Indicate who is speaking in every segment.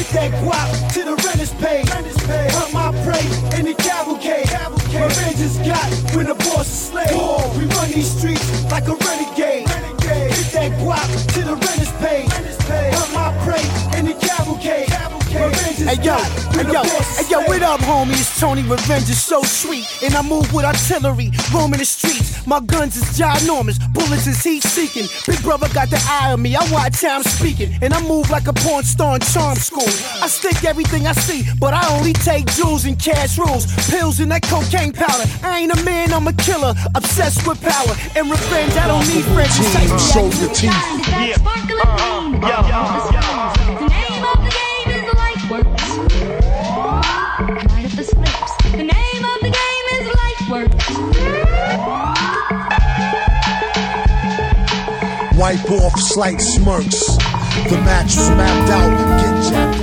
Speaker 1: Get that guap to the renters pay. Hunt my prey in the cavalcade. Revenge is got when the boss is slave. We run these streets like a renegade. Get that guap to the renters pay. Hunt my prey in the cavalcade. Hey yo, what up, homie? It's Tony. Revenge is so sweet, and I move with artillery, roaming the streets. My guns is ginormous, bullets is heat-seeking. Big brother got the eye on me, I watch how I'm speaking, and I move like a porn star in charm school. I stick everything I see, but I only take jewels and cash rules, pills and that cocaine powder. I ain't a man, I'm a killer, obsessed with power and revenge. I don't need friends.
Speaker 2: Show your teeth.
Speaker 3: The name of the game is light works. Right up the slips. The name of the game is light works.
Speaker 2: Wipe off slight smirks. The match was mapped out. Get jacked.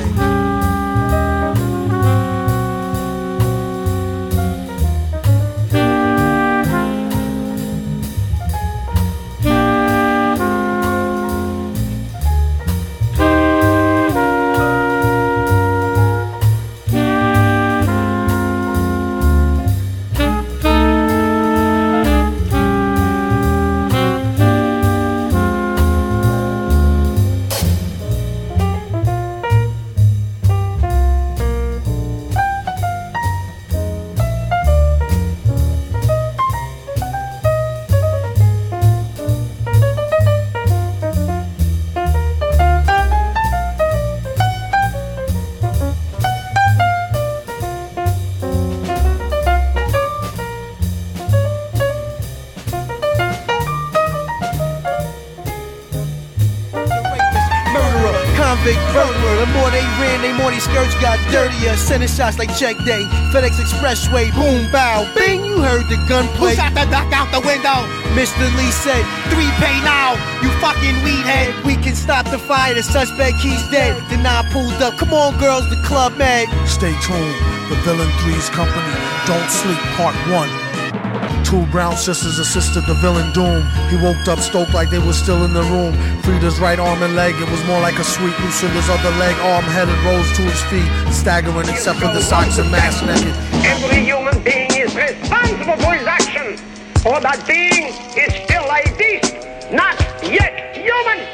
Speaker 1: The more they ran, the more these skirts got dirtier. Sending shots like check day, FedEx Expressway, boom, bow, bing. You heard the gunplay. Who shot the duck out the window? Mr. Lee said, 3 pay now, you fucking weed head. We can stop the fire, the suspect, he's dead. Then I pulled up, come on girls, the club mad.
Speaker 2: Stay tuned, the Villain 3's company. Don't sleep, part 1. 2 brown sisters assisted the villain Doom. He woke up stoked like they were still in the room. Frida's right arm and leg, it was more like a sweep. Lucinda's other leg, arm, head, and rose to his feet, staggering except for the socks and mask naked.
Speaker 4: Every human being is responsible for his action, or that being is still a beast, not yet human.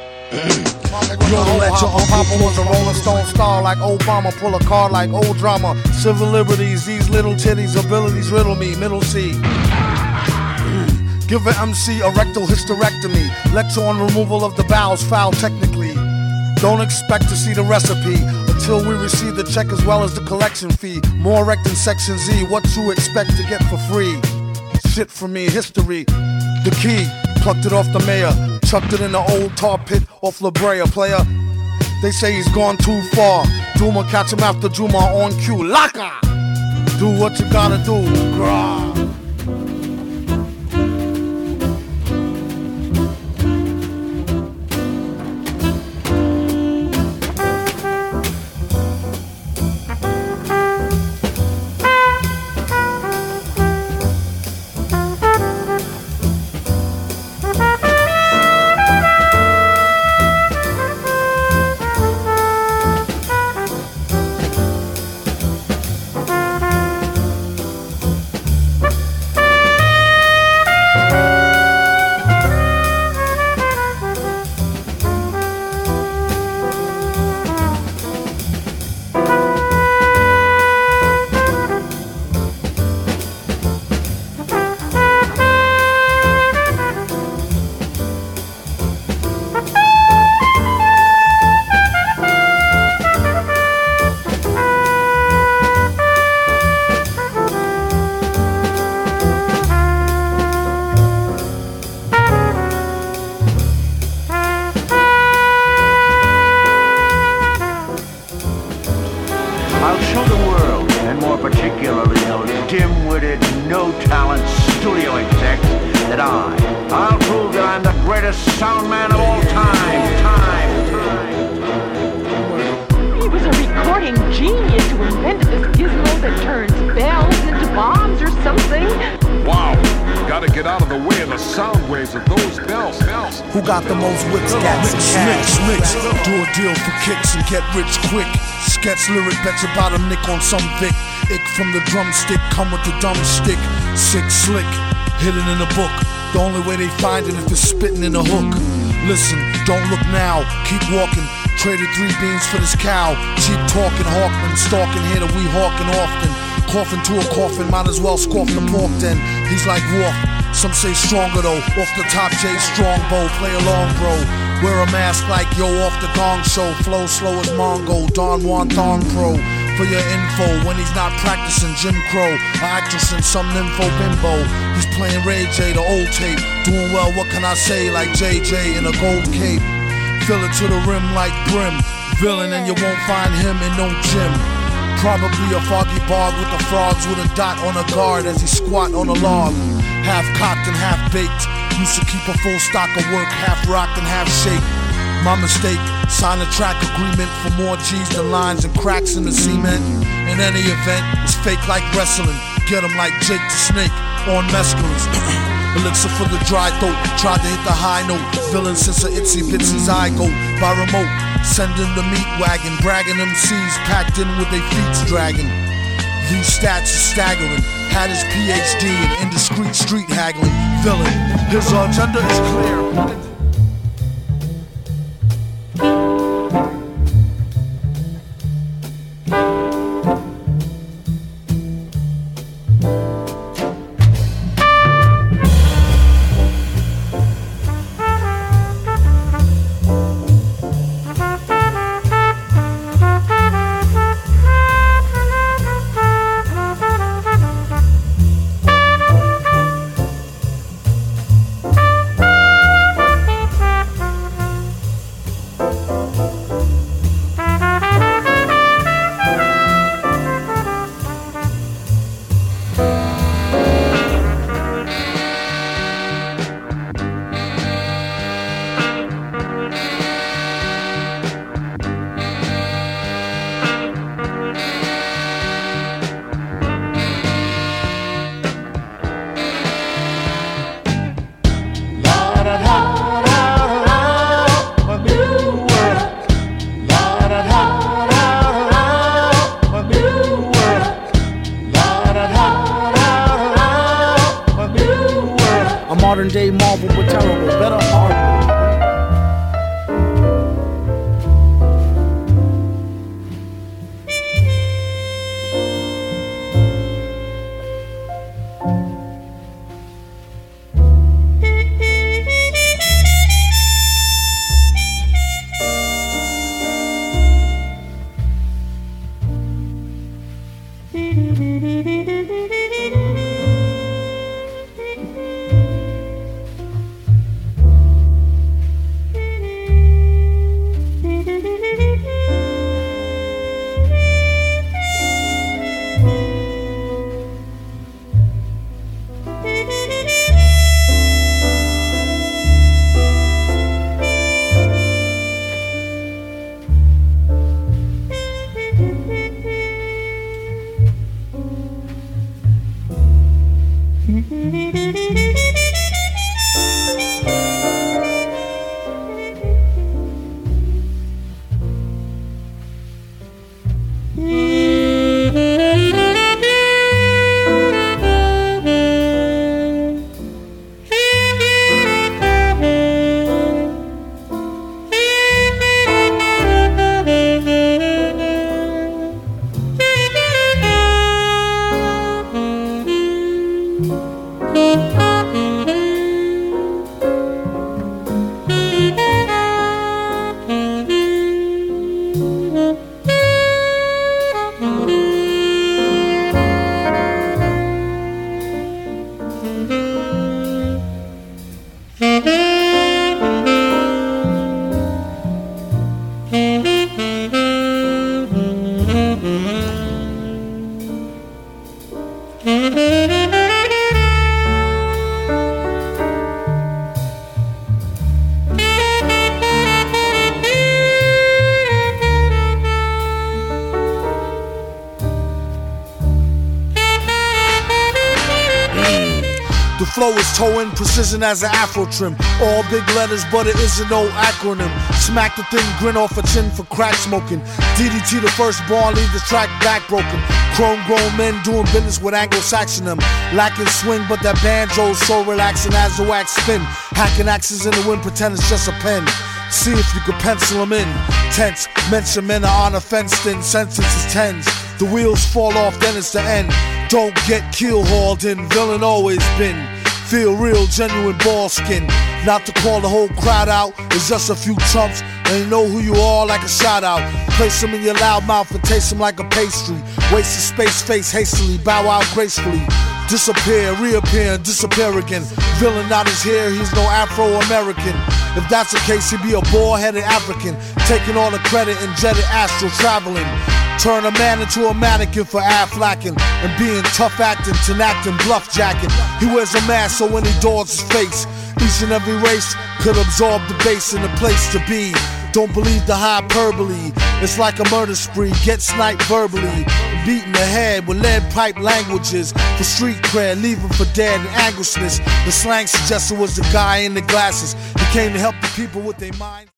Speaker 2: Yo, the lecture on Papa was a Rolling Stone star like Obama, pull a card like old drama. Civil liberties, these little titties, abilities riddle me, middle C. Give an MC a rectal hysterectomy. Lecture on removal of the bowels, foul technically. Don't expect to see the recipe until we receive the check as well as the collection fee. More rec than Section Z, what you expect to get for free? Shit for me, history. The key, plucked it off the mayor, chucked it in the old tar pit off La Brea, player. They say he's gone too far. Duma catch him after Juma on cue. Laka! Do what you gotta do, grah.
Speaker 5: out of the way of the sound waves of those bells.
Speaker 2: Who got the most whips, gas, mix, do a deal for kicks and get rich quick. Sketch lyric, bet you about a nick on some Vic. Ick from the drumstick, come with the dumb stick. Sick, slick, hidden in a book. The only way they find it if it's spitting in a hook. Listen, don't look now, keep walking. Traded 3 beans for this cow. Cheap talking, Hawkman, stalking here that we hawking often. Coughing to a coffin, might as well scoff the pork then. He's like Wolf, some say stronger though. Off the top, J Strongbow, play along bro. Wear a mask like yo off the Gong Show. Flow slow as Mongo, Don Juan Thong Pro. For your info, when he's not practicing Jim Crow, an actress in some nympho bimbo. He's playing Ray J, the old tape. Doing well, what can I say, like JJ in a gold cape. Fill it to the rim like brim. Villain and you won't find him in no gym. Probably a foggy bog with the frogs with a dot on a guard as he squat on a log. Half cocked and half baked. Used to keep a full stock of work, half rocked and half shaped. My mistake, sign a track agreement for more G's than lines and cracks in the cement. In any event, it's fake like wrestling. Get him like Jake the Snake on mescalines. Elixir for the dry throat, tried to hit the high note. Villain since a itsy bitsy zygote. By remote, sending the meat wagon. Bragging MCs packed in with their feet dragging. These stats are staggering. Had his PhD in indiscreet street haggling. Villain, his agenda is clear.
Speaker 6: Modern day Marvel, but terrible, better horrible.
Speaker 2: flow is toe-in precision as an afro trim. All big letters, but it isn't no acronym. Smack the thin grin off a chin for crack smoking. DDT the first ball, leave the track back broken. Chrome grown men doing business with Anglo-Saxon them. Lacking swing, but that banjo's so relaxing as the wax spin. Hacking axes in the wind, pretend it's just a pen. See if you could pencil them in. Tense, mention men are on a fenced in. Sentences tens. The wheels fall off, then it's the end. Don't get keel hauled in. Villain always been. Feel real, genuine ball skin. Not to call the whole crowd out. It's just a few chumps. And you know who you are like a shout out. Place them in your loud mouth and taste them like a pastry. Waste of space, face hastily. Bow out gracefully. Disappear, reappear, and disappear again. Villain not his here, he's no Afro-American. If that's the case, he'd be a bald-headed African, taking all the credit and jetted astral traveling. Turn a man into a mannequin for Aflacking and being tough acting, tenacting, bluff jacking. He wears a mask so when he daws his face, each and every race could absorb the base and the place to be. Don't believe the hyperbole, it's like a murder spree. Get sniped verbally, beaten the head with lead pipe languages. For street cred, leave him for dead and anguishness. The slang suggested was the guy in the glasses. He came to help the people with their mind.